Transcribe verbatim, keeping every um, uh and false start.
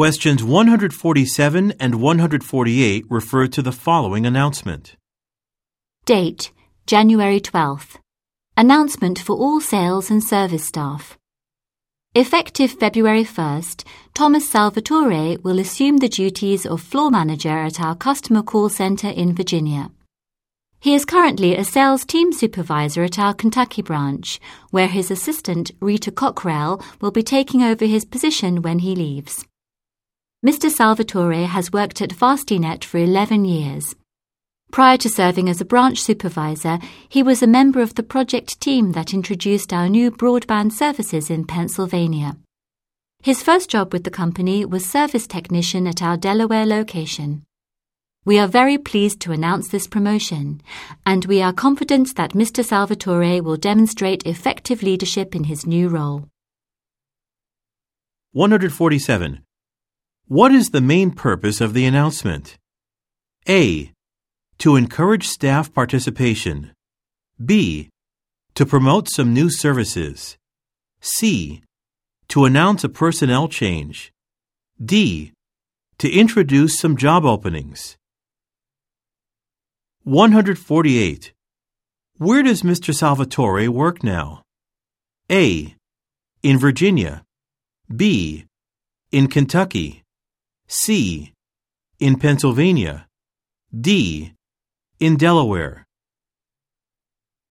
Questions one hundred forty-seven and one hundred forty-eight refer to the following announcement. Date, January twelfth. Announcement for all sales and service staff. Effective February first, Thomas Salvatore will assume the duties of floor manager at our customer call center in Virginia. He is currently a sales team supervisor at our Kentucky branch, where his assistant, Rita Cockrell, will be taking over his position when he leaves. Mister Salvatore has worked at FastiNet for eleven years. Prior to serving as a branch supervisor, he was a member of the project team that introduced our new broadband services in Pennsylvania. His first job with the company was service technician at our Delaware location. We are very pleased to announce this promotion, and we are confident that Mister Salvatore will demonstrate effective leadership in his new role. one hundred forty-seven. What is the main purpose of the announcement? A. To encourage staff participation. B. To promote some new services. C. To announce a personnel change. D. To introduce some job openings. one hundred forty-eight. Where does Mister Salvatore work now? A. In Virginia. B. In Kentucky. C. In Pennsylvania. D. In Delaware.